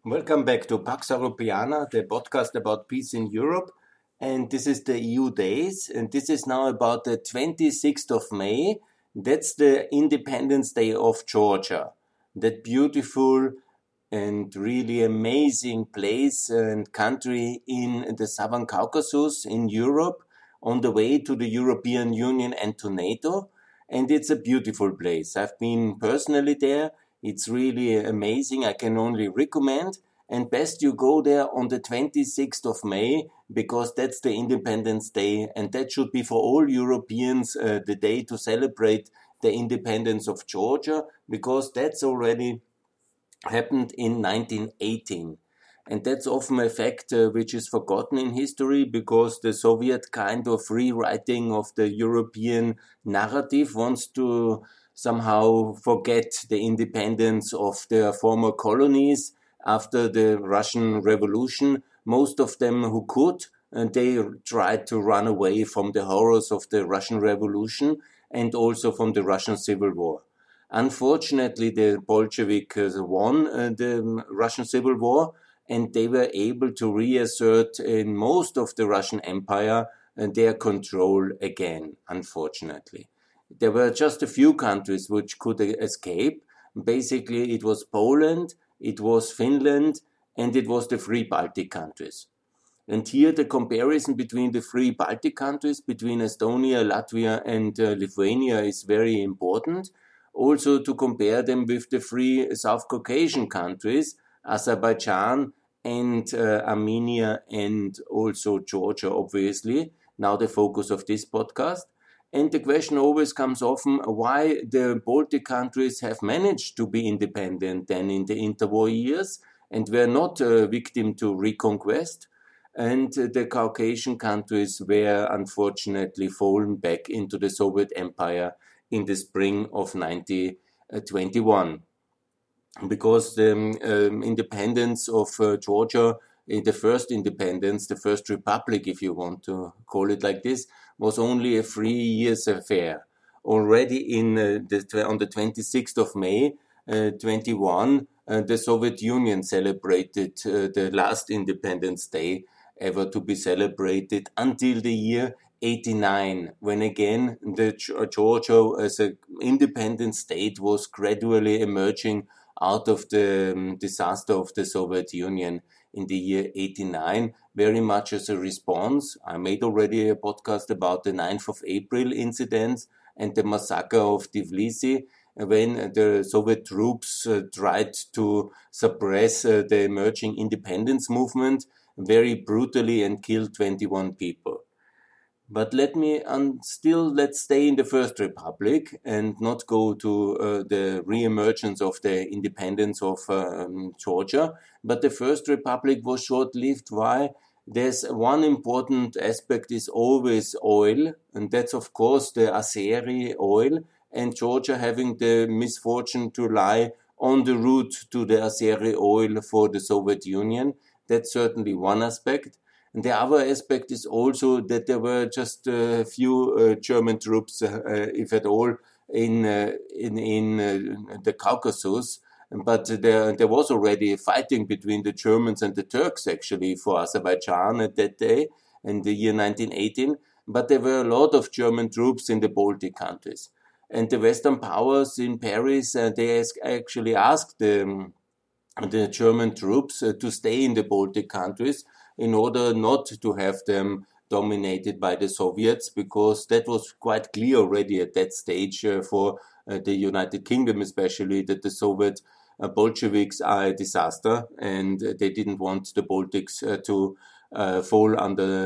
Welcome back to Pax Europiana, the podcast about peace in Europe. And this is the EU Days, and this is now about the 26th of May. That's the Independence Day of Georgia. That beautiful and really amazing place and country in the Southern Caucasus in Europe, on the way to the European Union and to NATO. And it's a beautiful place. I've been personally there. It's really amazing. I can only recommend. And best you go there on the 26th of May, because that's the Independence Day. And that should be for all Europeans the day to celebrate the independence of Georgia, because that's already happened in 1918. And that's often a fact which is forgotten in history, because the Soviet kind of rewriting of the European narrative wants to somehow forget the independence of their former colonies after the Russian Revolution. Most of them who could, and they tried to run away from the horrors of the Russian Revolution and also from the Russian Civil War. Unfortunately, the Bolsheviks won the Russian Civil War, and they were able to reassert in most of the Russian Empire their control again, unfortunately. There were just a few countries which could escape. Basically, it was Poland, it was Finland, and it was the three Baltic countries. And here the comparison between the three Baltic countries, between Estonia, Latvia, and Lithuania, is very important. Also to compare them with the three South Caucasian countries, Azerbaijan and Armenia, and also Georgia, obviously, now the focus of this podcast. And the question always comes often why the Baltic countries have managed to be independent then in the interwar years and were not a victim to reconquest. And the Caucasian countries were unfortunately fallen back into the Soviet Empire in the spring of 1921. Because the independence of Georgia, the first independence, the first republic, if you want to call it like this, was only a 3 years affair. Already on the 26th of May, 21, the Soviet Union celebrated the last Independence Day ever to be celebrated until the year 89, when again the Georgia as an independent state was gradually emerging out of the disaster of the Soviet Union in the year 89, very much as a response. I made already a podcast about the 9th of April incidents and the massacre of Tbilisi, when the Soviet troops tried to suppress the emerging independence movement very brutally and killed 21 people. But let's stay in the First Republic and not go to the re-emergence of the independence of Georgia. But the First Republic was short-lived. Why? There's one important aspect is always oil, and that's of course the Azeri oil, and Georgia having the misfortune to lie on the route to the Azeri oil for the Soviet Union. That's certainly one aspect. And the other aspect is also that there were just a few German troops, if at all, in the Caucasus. But there was already fighting between the Germans and the Turks, actually, for Azerbaijan at that day, in the year 1918. But there were a lot of German troops in the Baltic countries. And the Western powers in Paris, they actually asked the German troops to stay in the Baltic countries in order not to have them dominated by the Soviets, because that was quite clear already at that stage for the United Kingdom especially, that the Soviet Bolsheviks are a disaster, and they didn't want the Baltics to fall under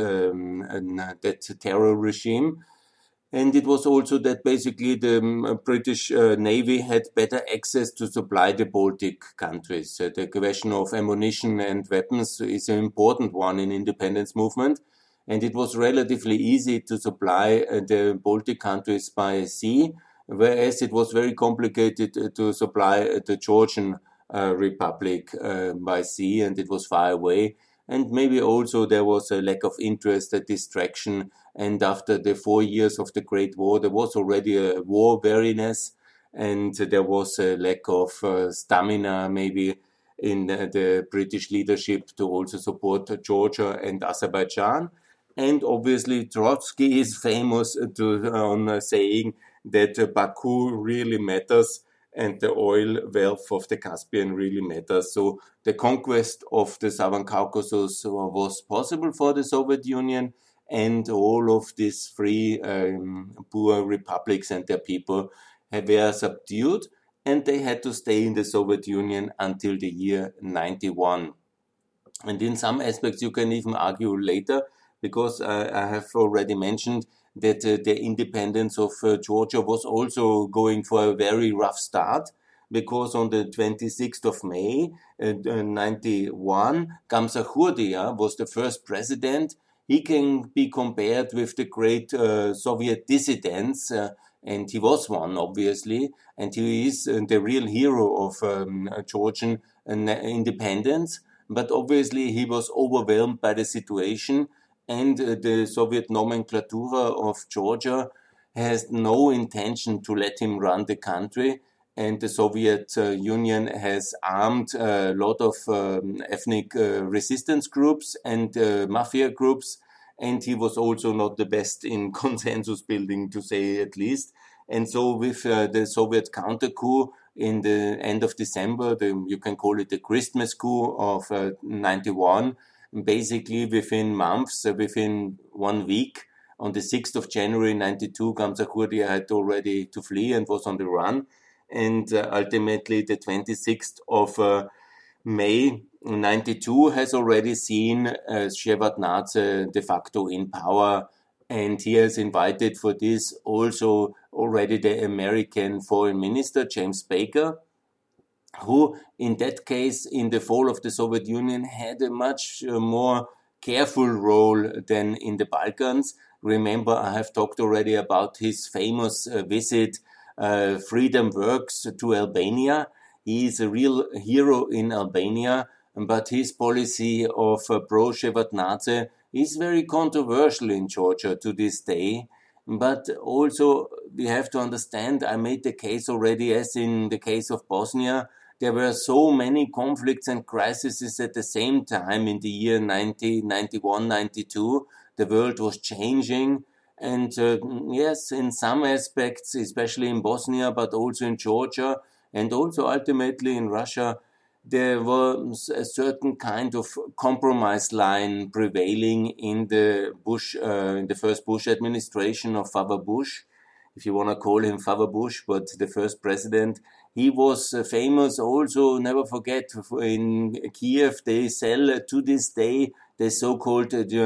that terror regime. And it was also that basically the British Navy had better access to supply the Baltic countries. The question of ammunition and weapons is an important one in independence movement. And it was relatively easy to supply the Baltic countries by sea, whereas it was very complicated to supply the Georgian Republic by sea, and it was far away. And maybe also there was a lack of interest, a distraction. And after the 4 years of the Great War, there was already a war weariness, and there was a lack of stamina, maybe, in the British leadership to also support Georgia and Azerbaijan. And obviously, Trotsky is famous on saying that Baku really matters and the oil wealth of the Caspian really matters. So the conquest of the Southern Caucasus was possible for the Soviet Union, and all of these free poor republics and their people were subdued, and they had to stay in the Soviet Union until the year 91. And in some aspects, you can even argue later, because I have already mentioned that the independence of Georgia was also going for a very rough start, because on the 26th of May 91, Gamsakhourdia was the first president. He can be compared with the great Soviet dissidents, and he was one, obviously, and he is the real hero of Georgian independence. But obviously he was overwhelmed by the situation, and the Soviet nomenclatura of Georgia has no intention to let him run the country, and the Soviet Union has armed a lot of ethnic resistance groups and mafia groups, and he was also not the best in consensus building, to say at least. And so with the Soviet counter coup in the end of December, you can call it the Christmas coup of 91, basically within months, within 1 week, on the 6th of January 92, Gamsakhourdia had already to flee and was on the run. And ultimately the 26th of May 92 has already seen Shevardnadze de facto in power, and he has invited for this also already the American Foreign Minister, James Baker, who in that case, in the fall of the Soviet Union, had a much more careful role than in the Balkans. Remember, I have talked already about his famous visit, Freedom Works, to Albania. He is a real hero in Albania, but his policy of pro-Shevardnadze is very controversial in Georgia to this day. But also, we have to understand, I made the case already, as in the case of Bosnia, there were so many conflicts and crises at the same time in the year 90, 91, 92. The world was changing. And yes, in some aspects, especially in Bosnia, but also in Georgia, and also ultimately in Russia, there was a certain kind of compromise line prevailing in the in the first Bush administration of Father Bush, if you want to call him Father Bush, but the first president. He was famous also, never forget, in Kiev, they sell to this day the so-called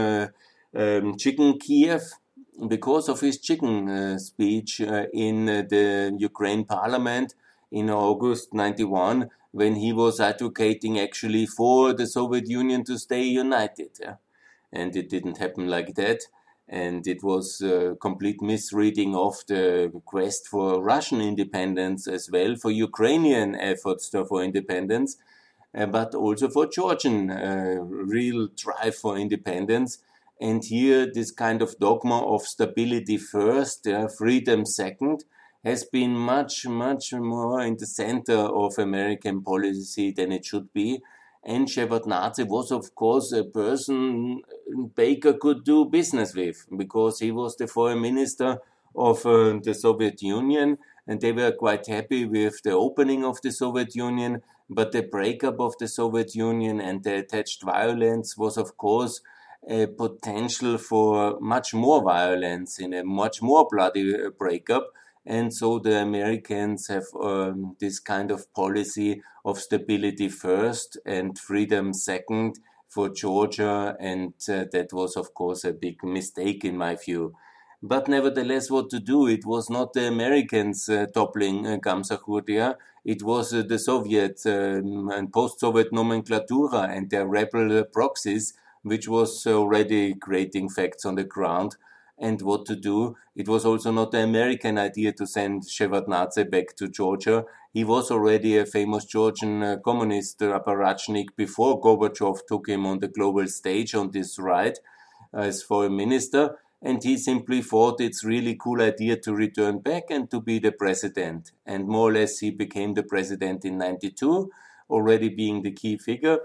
chicken Kiev, because of his chicken speech in the Ukraine parliament in August 91, when he was advocating actually for the Soviet Union to stay united. Yeah? And it didn't happen like that. And it was a complete misreading of the quest for Russian independence as well, for Ukrainian efforts for independence, but also for Georgian real drive for independence. And here, this kind of dogma of stability first, freedom second, has been much, much more in the center of American policy than it should be. And Shevardnadze was, of course, a person Baker could do business with, because he was the foreign minister of the Soviet Union, and they were quite happy with the opening of the Soviet Union, but the breakup of the Soviet Union and the attached violence was, of course, a potential for much more violence in a much more bloody breakup. And so the Americans have this kind of policy of stability first and freedom second for Georgia. And that was, of course, a big mistake in my view. But nevertheless, what to do? It was not the Americans toppling Gamsakhourdia. It was the Soviet and post-Soviet nomenclatura and their rebel proxies, which was already creating facts on the ground. And what to do. It was also not the American idea to send Shevardnadze back to Georgia. He was already a famous Georgian communist apparatchik before Gorbachev took him on the global stage on this ride as foreign minister. And he simply thought it's really cool idea to return back and to be the president. And more or less he became the president in 92. already being the key figure,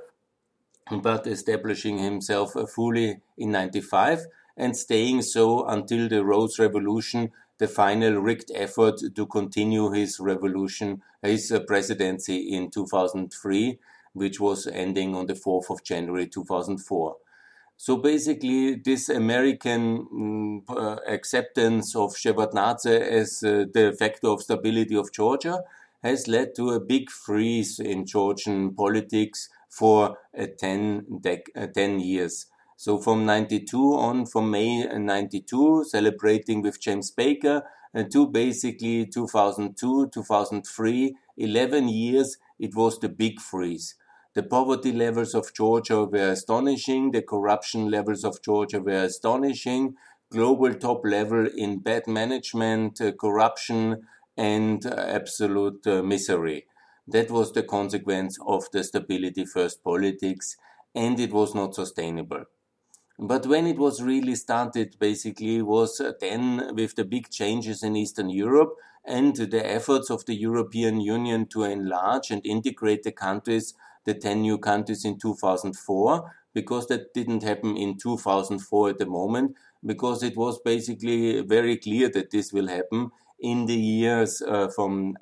but establishing himself fully in 95 and staying so until the Rose Revolution, the final rigged effort to continue his revolution, his presidency in 2003, which was ending on the 4th of January 2004. So basically, this American acceptance of Shevardnadze as the factor of stability of Georgia has led to a big freeze in Georgian politics for 10 years. So from 92 on, from May 92, celebrating with James Baker, to basically 2002, 2003, 11 years, it was the big freeze. The poverty levels of Georgia were astonishing. The corruption levels of Georgia were astonishing. Global top level in bad management, corruption, and absolute misery. That was the consequence of the stability first politics, and it was not sustainable. But when it was really started, basically, was then with the big changes in Eastern Europe and the efforts of the European Union to enlarge and integrate the countries, the 10 new countries in 2004, because that didn't happen in 2004 at the moment, because it was basically very clear that this will happen in the years from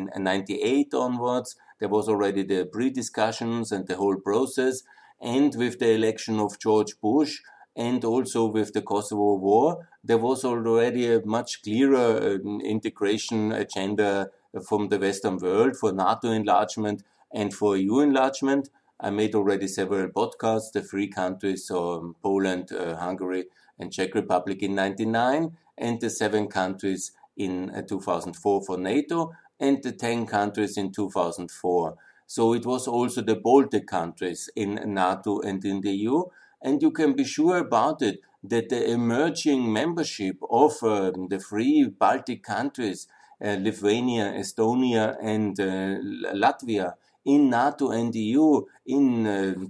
1898 onwards. There was already the pre-discussions and the whole process, and with the election of George Bush, and also with the Kosovo War, there was already a much clearer integration agenda from the Western world for NATO enlargement and for EU enlargement. I made already several podcasts, the three countries, so Poland, Hungary, and Czech Republic in 1999, and the 7 countries in 2004 for NATO, and the 10 countries in 2004. So it was also the Baltic countries in NATO and in the EU. And you can be sure about it that the emerging membership of the 3 Baltic countries, Lithuania, Estonia, and Latvia, in NATO and EU in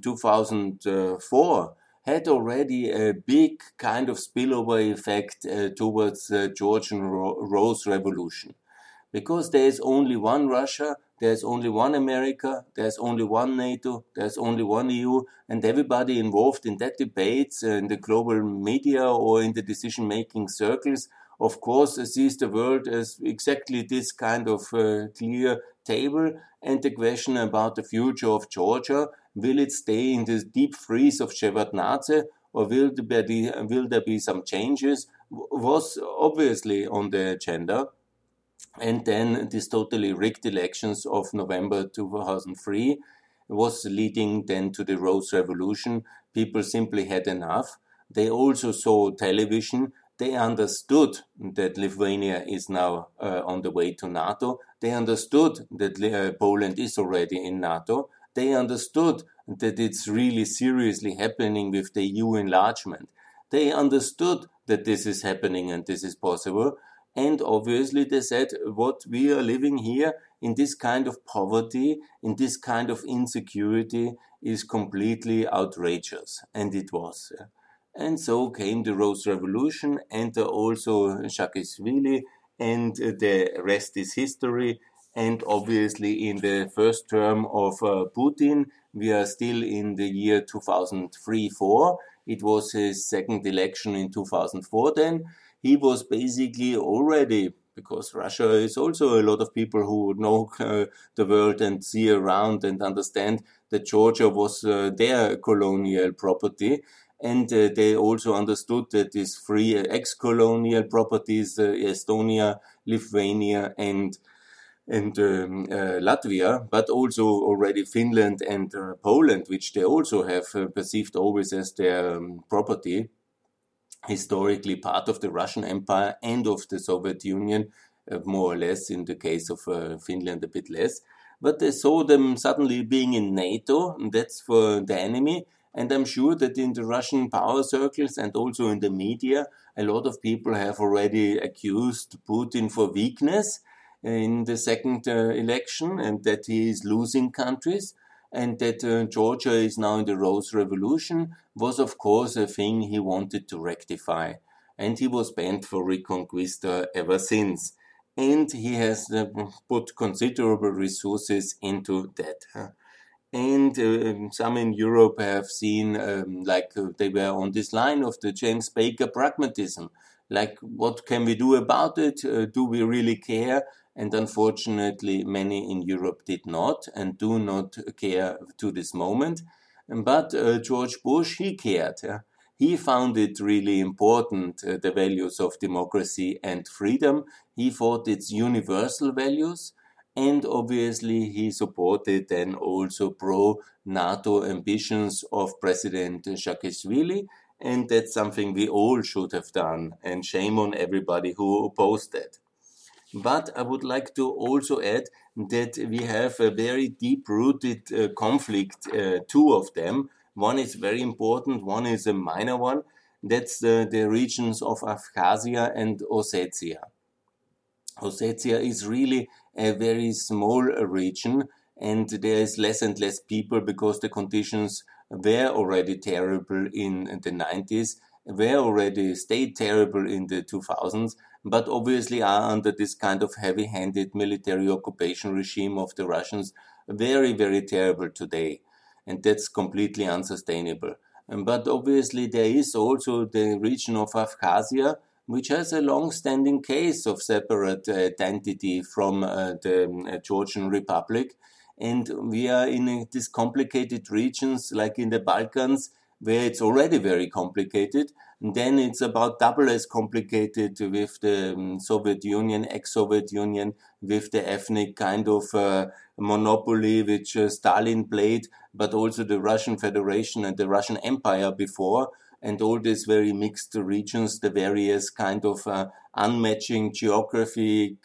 2004, had already a big kind of spillover effect towards the Georgian Rose Revolution. Because there is only one Russia, there's only one America, there's only one NATO, there's only one EU, and everybody involved in that debate in the global media or in the decision-making circles, of course, sees the world as exactly this kind of clear table, and the question about the future of Georgia, will it stay in this deep freeze of Shevardnadze, or will there be some changes, was obviously on the agenda. And then these totally rigged elections of November 2003 was leading then to the Rose Revolution. People simply had enough. They also saw television. They understood that Lithuania is now on the way to NATO. They understood that Poland is already in NATO. They understood that it's really seriously happening with the EU enlargement. They understood that this is happening and this is possible. And obviously they said, what we are living here in this kind of poverty, in this kind of insecurity is completely outrageous. And it was. And so came the Rose Revolution and also Saakashvili, and the rest is history. And obviously in the first term of Putin, we are still in the year 2003-4. It was his second election in 2004 then. He was basically already, because Russia is also a lot of people who know the world and see around and understand that Georgia was their colonial property. And they also understood that these 3 ex-colonial properties, Estonia, Lithuania, and Latvia, but also already Finland and Poland, which they also have perceived always as their property, historically part of the Russian Empire and of the Soviet Union, more or less, in the case of Finland a bit less. But they saw them suddenly being in NATO, and that's for the enemy. And I'm sure that in the Russian power circles and also in the media, a lot of people have already accused Putin for weakness in the second election, and that he is losing countries. And that Georgia is now in the Rose Revolution was, of course, a thing he wanted to rectify. And he was bent for Reconquista ever since. And he has put considerable resources into that. And some in Europe have seen they were on this line of the James Baker pragmatism. Like, what can we do about it? Do we really care? And unfortunately, many in Europe did not and do not care to this moment. But George Bush, he cared. He found it really important, the values of democracy and freedom. He thought it's universal values. And obviously, he supported then also pro-NATO ambitions of President Saakashvili. And that's something we all should have done. And shame on everybody who opposed that. But I would like to also add that we have a very deep-rooted conflict, two of them. One is very important, one is a minor one. That's the regions of Abkhazia and Ossetia. Ossetia is really a very small region, and there is less and less people because the conditions were already terrible in the 90s, were already stayed terrible in the 2000s, but obviously are under this kind of heavy-handed military occupation regime of the Russians very, very terrible today. And that's completely unsustainable. But obviously there is also the region of Abkhazia, which has a long-standing case of separate identity from the Georgian Republic. And we are in these complicated regions, like in the Balkans, where it's already very complicated. And then it's about double as complicated with the Soviet Union, ex-Soviet Union, with the ethnic kind of monopoly which Stalin played, but also the Russian Federation and the Russian Empire before, and all these very mixed regions, the various kind of unmatching geographic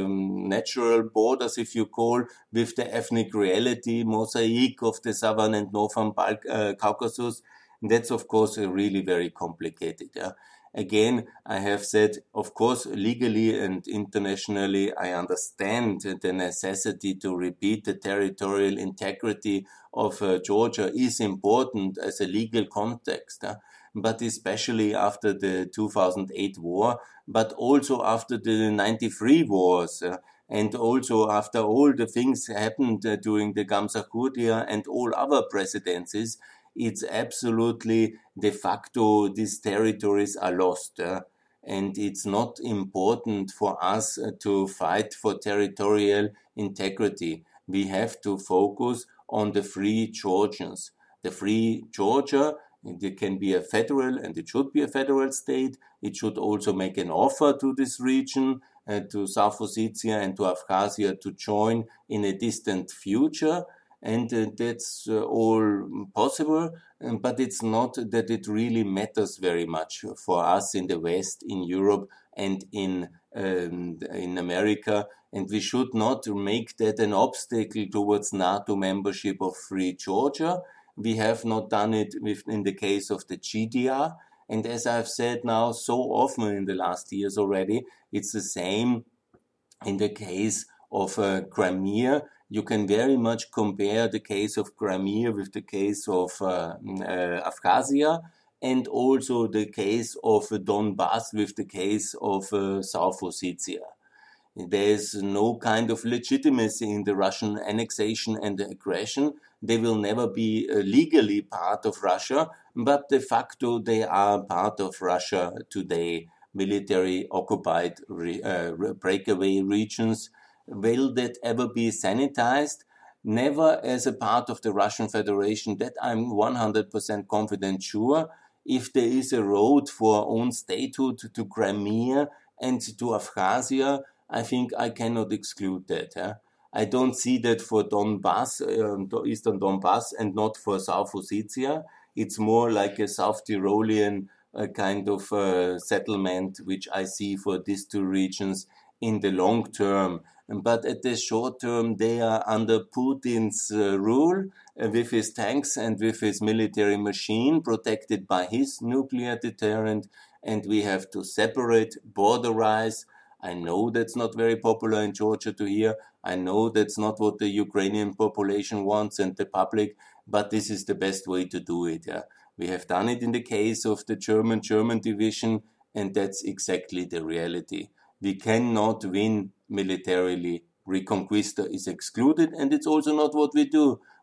natural borders, if you call, with the ethnic reality, mosaic of the southern and northern Caucasus. And that's, of course, really very complicated. Again, I have said, of course, legally and internationally, I understand the necessity to repeat the territorial integrity of Georgia is important as a legal context. But especially after the 2008 war, but also after the 93 wars, and also after all the things happened during the Gamsakhutia and all other presidencies, it's absolutely de facto these territories are lost. And it's not important for us to fight for territorial integrity. We have to focus on the free Georgians. The free Georgia, it can be a federal, and it should be a federal state. It should also make an offer to this region, to South Ossetia and to Abkhazia to join in a distant future. And that's all possible, but it's not that it really matters very much for us in the West, in Europe, and in America. And we should not make that an obstacle towards NATO membership of Free Georgia. We have not done it in the case of the GDR. And as I've said now so often in the last years already, it's the same in the case of Crimea. You can very much compare the case of Crimea with the case of Abkhazia, and also the case of Donbass with the case of South Ossetia. There's no kind of legitimacy in the Russian annexation and aggression. They will never be legally part of Russia, but de facto they are part of Russia today. Military occupied breakaway regions. Will that ever be sanitized? Never as a part of the Russian Federation. That I'm 100% confident sure. If there is a road for own statehood to Crimea and to Abkhazia, I think I cannot exclude that. I don't see that for Donbass, Eastern Donbass, and not for South Ossetia. It's more like a South Tyrolean kind of settlement, which I see for these two regions in the long term. But at the short term, they are under Putin's rule with his tanks and with his military machine, protected by his nuclear deterrent. And we have to separate, borderize. I know that's not very popular in Georgia to hear. I know that's not what the Ukrainian population wants and the public, but this is the best way to do it. We have done it in the case of the German division, and that's exactly the reality. We cannot win militarily. Reconquista is excluded, and it's also not what we do.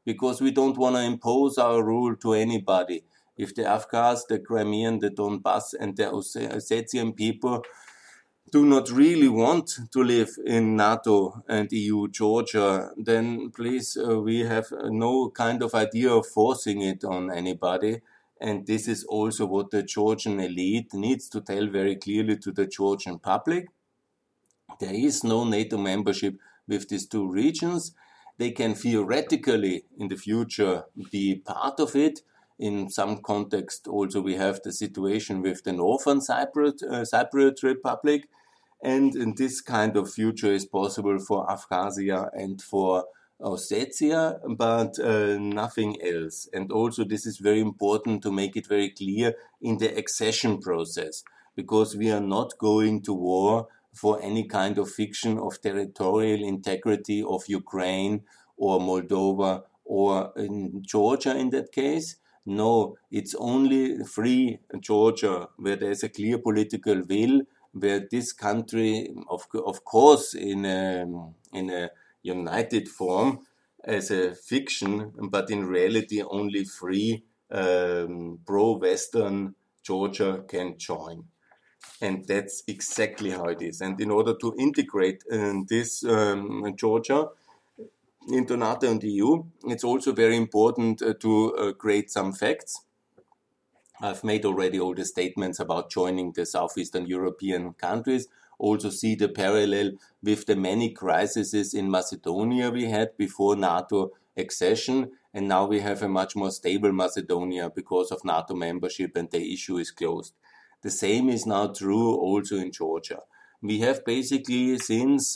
because we don't want to impose our rule to anybody. If the Afghans, the Crimean, the Donbass, and the Ossetian people do not really want to live in NATO and EU Georgia, then please, we have no kind of idea of forcing it on anybody. And this is also what the Georgian elite needs to tell very clearly to the Georgian public. There is no NATO membership with these two regions. They can theoretically in the future be part of it. In some context also we have the situation with the Northern Cypriot Republic, and in this kind of future is possible for Abkhazia and for Ossetia, but nothing else. And also this is very important to make it very clear in the accession process, because we are not going to war for any kind of fiction of territorial integrity of Ukraine or Moldova or in Georgia in that case. No, it's only free Georgia where there's a clear political will, where this country, of course, in a united form as a fiction, but in reality only free pro-Western Georgia can join. And that's exactly how it is. And in order to integrate this Georgia into NATO and the EU, it's also very important to create some facts. I've made already all the statements about joining the Southeastern European countries. Also see the parallel with the many crises in Macedonia we had before NATO accession, and now we have a much more stable Macedonia because of NATO membership, and the issue is closed. The same is now true also in Georgia. We have basically since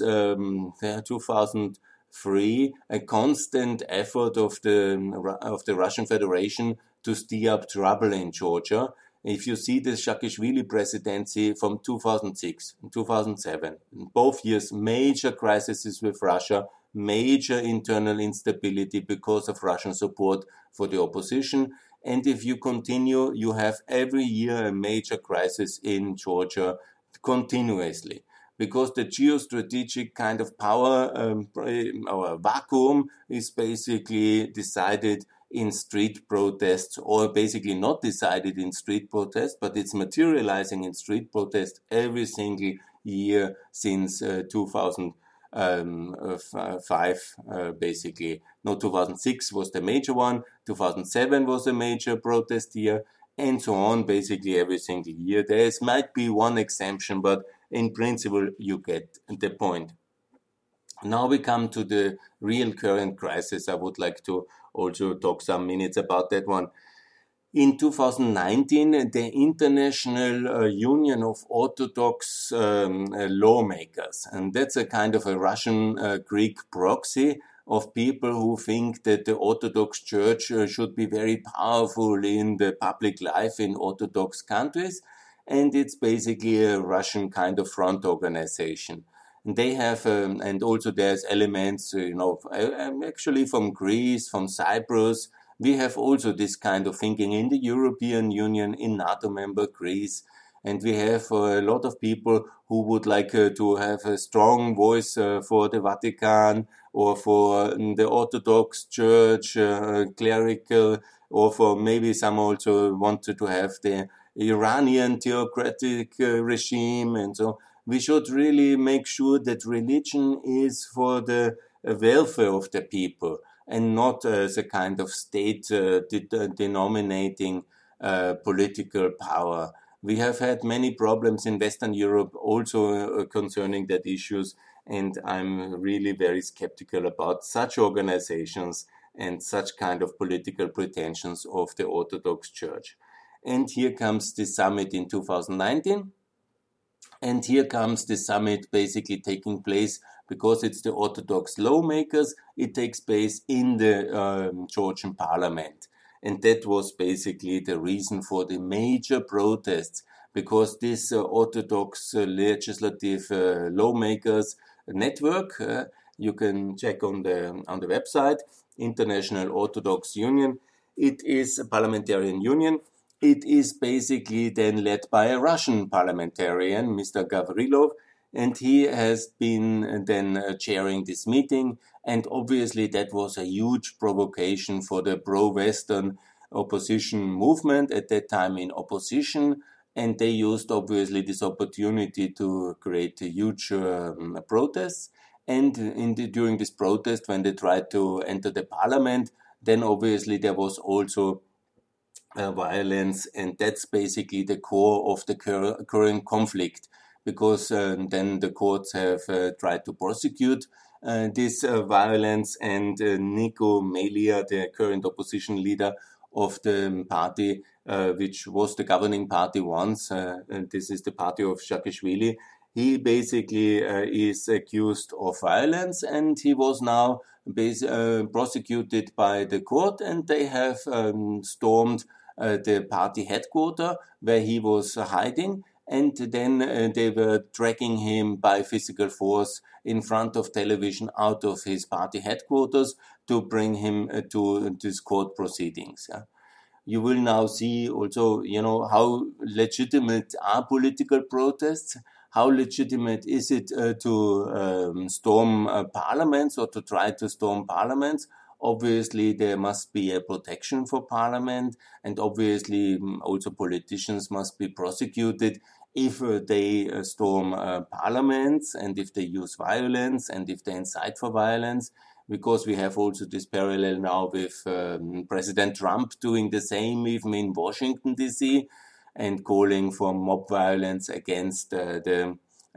2003 a constant effort of the Russian Federation to stir up trouble in Georgia. If you see the Saakashvili presidency from 2006 and 2007, in both years major crises with Russia, major internal instability because of Russian support for the opposition. And if you continue, you have every year a major crisis in Georgia continuously, because the geostrategic kind of power or vacuum is basically decided in street protests, or basically not decided in street protests, but it's materializing in street protests every single year since 2005, basically. No, 2006 was the major one, 2007 was a major protest year, and so on, basically every single year. There might be one exemption, but in principle you get the point. Now we come to the real current crisis. I would like to also talk some minutes about that one. In 2019, the International Union of Orthodox Lawmakers, and that's a kind of a Russian Greek proxy of people who think that the Orthodox Church should be very powerful in the public life in Orthodox countries, and it's basically a Russian kind of front organization. They have, and also there's elements, actually from Greece, from Cyprus. We have also this kind of thinking in the European Union, in NATO member Greece. And we have a lot of people who would like to have a strong voice for the Vatican or for the Orthodox Church, clerical, or for maybe some also wanted to have the Iranian theocratic regime and so. We should really make sure that religion is for the welfare of the people and not as a kind of state denominating political power. We have had many problems in Western Europe also concerning that issues, and I'm really very skeptical about such organizations and such kind of political pretensions of the Orthodox Church. And here comes the summit in 2019. And here comes the summit basically taking place because it's the Orthodox lawmakers. It takes place in the Georgian parliament. And that was basically the reason for the major protests, because this Orthodox legislative lawmakers network, you can check on the website, International Orthodox Union. It is a parliamentarian union. It is basically then led by a Russian parliamentarian, Mr. Gavrilov, and he has been then chairing this meeting. And obviously, that was a huge provocation for the pro-Western opposition movement at that time in opposition. And they used obviously this opportunity to create a huge protests. And during this protest, when they tried to enter the parliament, then obviously there was also violence, and that's basically the core of the current conflict, because then the courts have tried to prosecute this violence, and Nico Melia, the current opposition leader of the party, which was the governing party once, and this is the party of Saakashvili, he basically is accused of violence, and he was now prosecuted by the court, and they have stormed the party headquarters where he was hiding, and then they were dragging him by physical force in front of television out of his party headquarters to bring him to these court proceedings. Yeah. You will now see also, how legitimate are political protests. How legitimate is it to storm parliaments or to try to storm parliaments? Obviously, there must be a protection for parliament, and obviously also politicians must be prosecuted if they storm parliaments, and if they use violence, and if they incite for violence, because we have also this parallel now with President Trump doing the same even in Washington, D.C., and calling for mob violence against the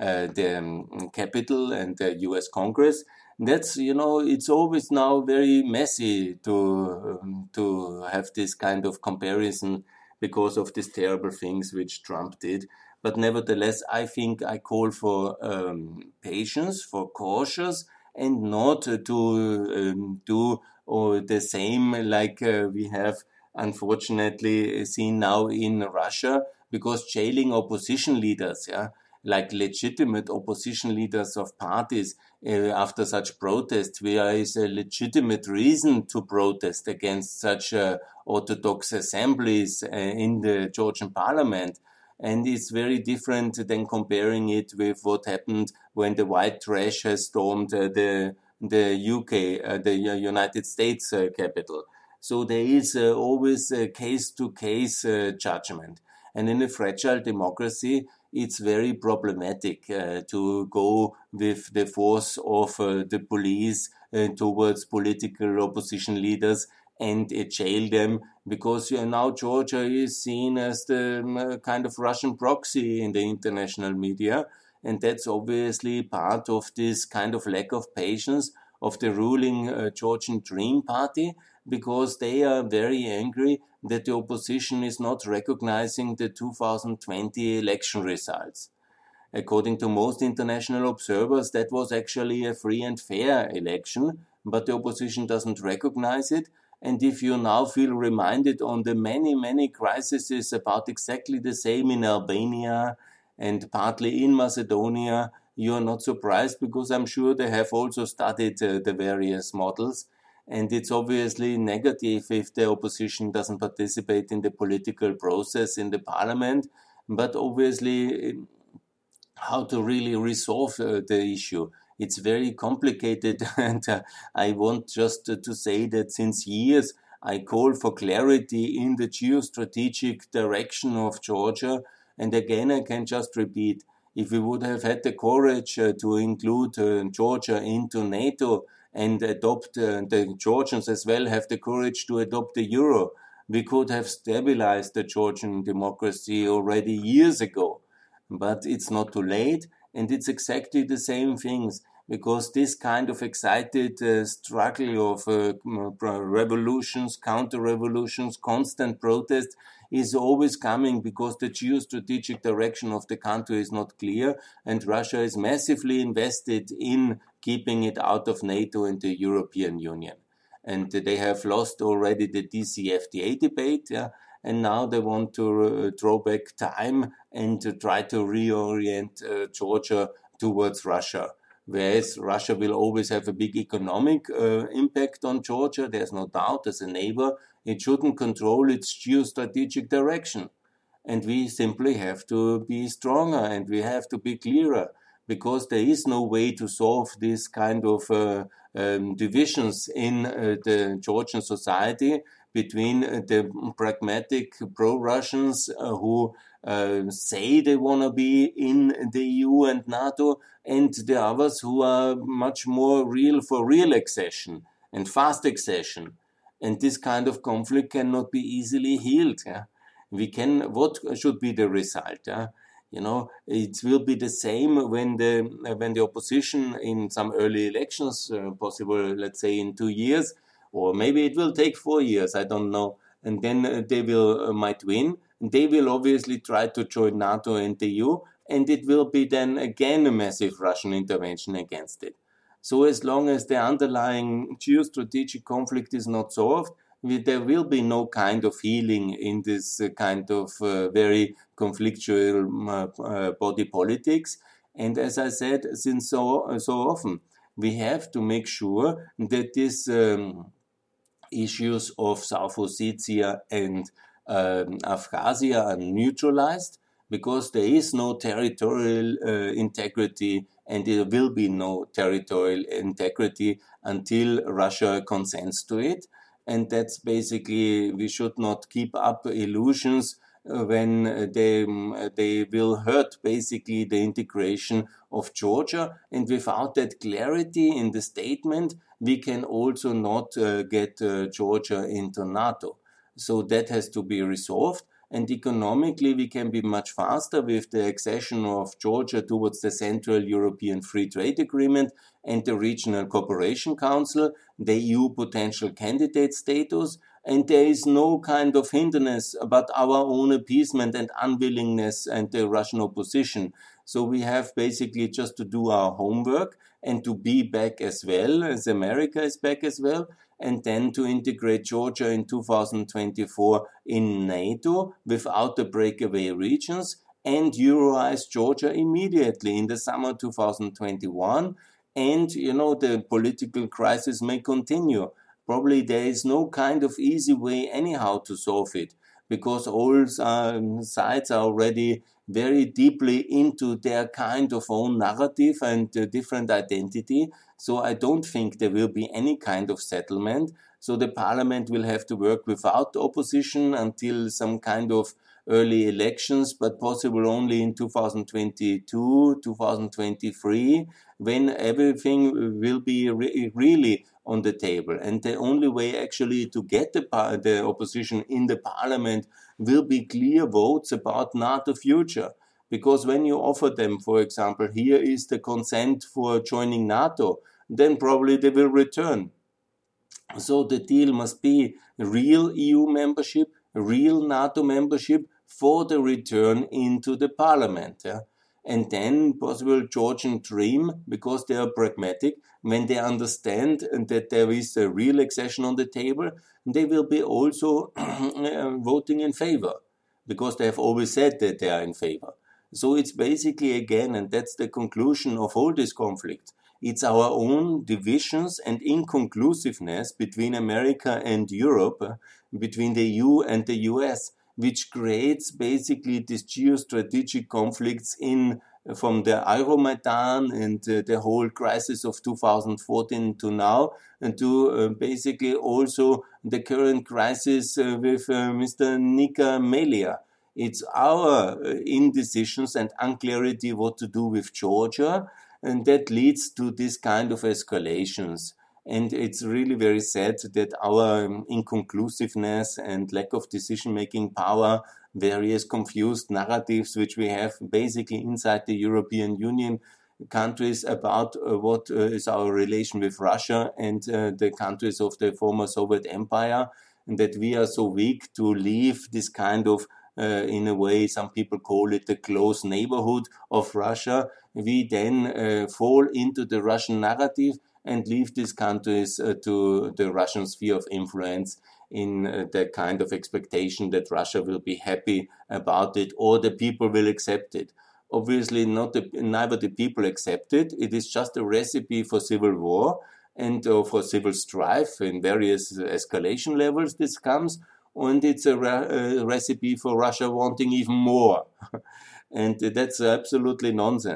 Capitol and the U.S. Congress. That's, it's always now very messy to have this kind of comparison because of these terrible things which Trump did. But nevertheless, I think I call for patience, for cautious, and not to do the same like we have unfortunately seen now in Russia, because jailing opposition leaders, like legitimate opposition leaders of parties after such protests, where is a legitimate reason to protest against such orthodox assemblies in the Georgian parliament. And it's very different than comparing it with what happened when the white trash has stormed the UK, the United States Capitol. So there is always a case-to-case judgment. And in a fragile democracy, it's very problematic to go with the force of the police towards political opposition leaders and jail them, because now Georgia is seen as the kind of Russian proxy in the international media. And that's obviously part of this kind of lack of patience of the ruling Georgian Dream Party, because they are very angry that the opposition is not recognizing the 2020 election results. According to most international observers, that was actually a free and fair election, but the opposition doesn't recognize it. And if you now feel reminded on the many, many crises about exactly the same in Albania and partly in Macedonia, you are not surprised, because I'm sure they have also studied the various models. And it's obviously negative if the opposition doesn't participate in the political process in the parliament. But obviously, how to really resolve the issue, it's very complicated. And I want just to say that since years I call for clarity in the geostrategic direction of Georgia. And again, I can just repeat, if we would have had the courage to include Georgia into NATO and adopt the Georgians as well have the courage to adopt the euro, we could have stabilized the Georgian democracy already years ago. But it's not too late, and it's exactly the same things, because this kind of excited struggle of revolutions, counter-revolutions, constant protest is always coming because the geostrategic direction of the country is not clear, and Russia is massively invested in keeping it out of NATO and the European Union. And they have lost already the DCFTA debate, and now they want to draw back time and to try to reorient Georgia towards Russia. Whereas Russia will always have a big economic impact on Georgia, there's no doubt, as a neighbor, it shouldn't control its geostrategic direction. And we simply have to be stronger, and we have to be clearer. because there is no way to solve this kind of divisions in the Georgian society between the pragmatic pro-Russians who say they want to be in the EU and NATO, and the others who are much more real for real accession and fast accession. And this kind of conflict cannot be easily healed. Yeah? What should be the result? Yeah? It will be the same when the opposition in some early elections, possible, let's say in 2 years, or maybe it will take 4 years, I don't know. And then they will might win. They will obviously try to join NATO and the EU, and it will be then again a massive Russian intervention against it. So as long as the underlying geostrategic conflict is not solved, there will be no kind of healing in this kind of very conflictual body politics. And as I said, since so often, we have to make sure that these issues of South Ossetia and Abkhazia are neutralized, because there is no territorial integrity, and there will be no territorial integrity until Russia consents to it. And that's basically, we should not keep up illusions when they will hurt basically the integration of Georgia. And without that clarity in the statement, we can also not get Georgia into NATO. So that has to be resolved. And economically, we can be much faster with the accession of Georgia towards the Central European Free Trade Agreement and the Regional Cooperation Council, the EU potential candidate status, and there is no kind of hindrance about our own appeasement and unwillingness and the Russian opposition. So we have basically just to do our homework and to be back as well, as America is back as well, and then to integrate Georgia in 2024 in NATO without the breakaway regions, and Euroize Georgia immediately in the summer 2021. And, the political crisis may continue. Probably there is no kind of easy way anyhow to solve it, because all sides are already very deeply into their kind of own narrative and different identity. So I don't think there will be any kind of settlement. So the parliament will have to work without opposition until some kind of early elections, but possible only in 2022, 2023, when everything will be really on the table. And the only way actually to get the opposition in the parliament will be clear votes about NATO future. Because when you offer them, for example, here is the consent for joining NATO, then probably they will return. So the deal must be real EU membership, real NATO membership for the return into the parliament. Yeah? And then possible Georgian dream, because they are pragmatic, when they understand that there is a real accession on the table, they will be also voting in favor, because they have always said that they are in favor. So it's basically, again, and that's the conclusion of all this conflict, it's our own divisions and inconclusiveness between America and Europe, between the EU and the US, which creates basically these geostrategic conflicts from the Euromaidan and the whole crisis of 2014 to now, and to basically also the current crisis with Mr. Nika Melia. It's our indecisions and unclarity what to do with Georgia, and that leads to this kind of escalations. And it's really very sad that our inconclusiveness and lack of decision-making power, various confused narratives which we have basically inside the European Union countries about what is our relation with Russia and the countries of the former Soviet Empire, and that we are so weak to leave this kind of in a way, some people call it the close neighborhood of Russia. We then fall into the Russian narrative and leave these countries to the Russian sphere of influence in the kind of expectation that Russia will be happy about it or the people will accept it. Obviously, neither the people accept it. It is just a recipe for civil war and for civil strife in various escalation levels. This comes. And it's a recipe for Russia wanting even more. And that's absolutely nonsense.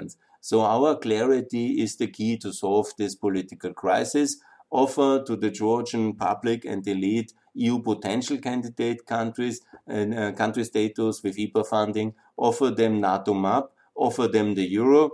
So our clarity is the key to solve this political crisis. Offer to the Georgian public and elite EU potential candidate countries and country status with IPA funding. Offer them NATO map. Offer them the euro.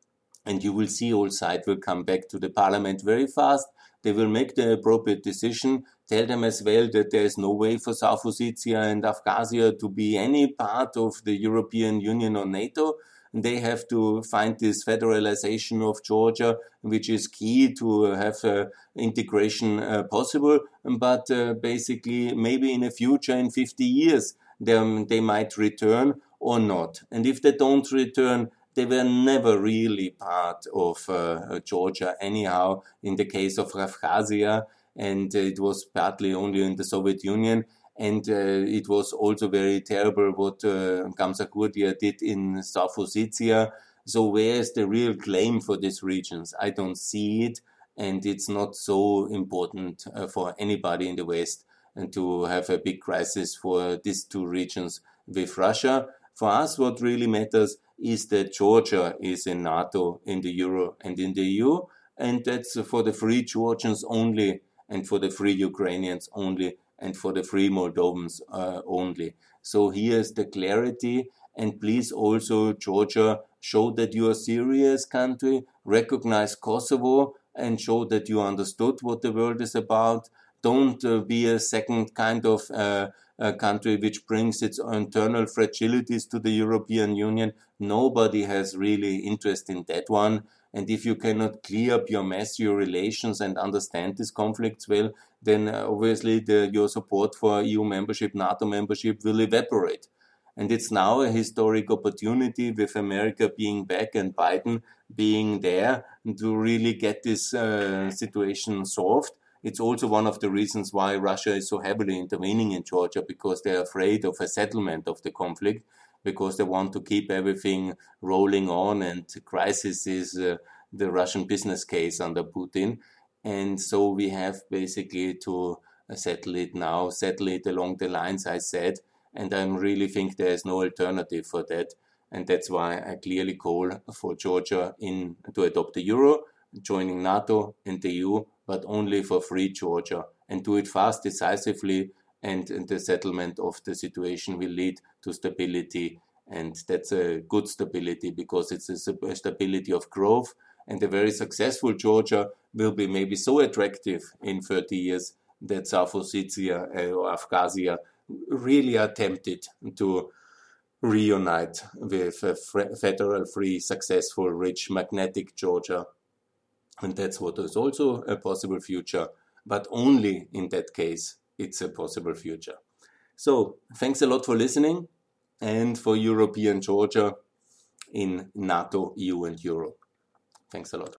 And you will see all sides will come back to the parliament very fast. They will make the appropriate decision. Tell them as well that there is no way for South Ossetia and Abkhazia to be any part of the European Union or NATO. And they have to find this federalization of Georgia, which is key to have integration possible. But basically, maybe in the future, in 50 years, they might return or not. And if they don't return, they were never really part of Georgia anyhow, in the case of Abkhazia, and it was partly only in the Soviet Union. And it was also very terrible what Gamsakhudia did in South Ossetia. So where is the real claim for these regions? I don't see it, and it's not so important for anybody in the West and to have a big crisis for these two regions with Russia. For us, what really matters is that Georgia is in NATO, in the Euro, and in the EU, and that's for the free Georgians only, and for the free Ukrainians only, and for the free Moldovans only. So here's the clarity, and please also, Georgia, show that you are a serious country, recognize Kosovo, and show that you understood what the world is about. Don't be a second kind of country which brings its internal fragilities to the European Union. Nobody has really interest in that one. And if you cannot clear up your mess, your relations, and understand these conflicts well, then obviously your support for EU membership, NATO membership will evaporate. And it's now a historic opportunity with America being back and Biden being there to really get this situation solved. It's also one of the reasons why Russia is so heavily intervening in Georgia, because they're afraid of a settlement of the conflict, because they want to keep everything rolling on, and crisis is the Russian business case under Putin. And so we have basically to settle it now, settle it along the lines I said, and I really think there is no alternative for that. And that's why I clearly call for Georgia to adopt the euro, joining NATO and the EU, but only for free Georgia, and do it fast, decisively, and the settlement of the situation will lead to stability. And that's a good stability, because it's a stability of growth, and a very successful Georgia will be maybe so attractive in 30 years that South Ossetia or Abkhazia really are tempted to reunite with a federal, free, successful, rich, magnetic Georgia. And that's what is also a possible future, but only in that case it's a possible future. So thanks a lot for listening, and for European Georgia in NATO, EU and Europe. Thanks a lot.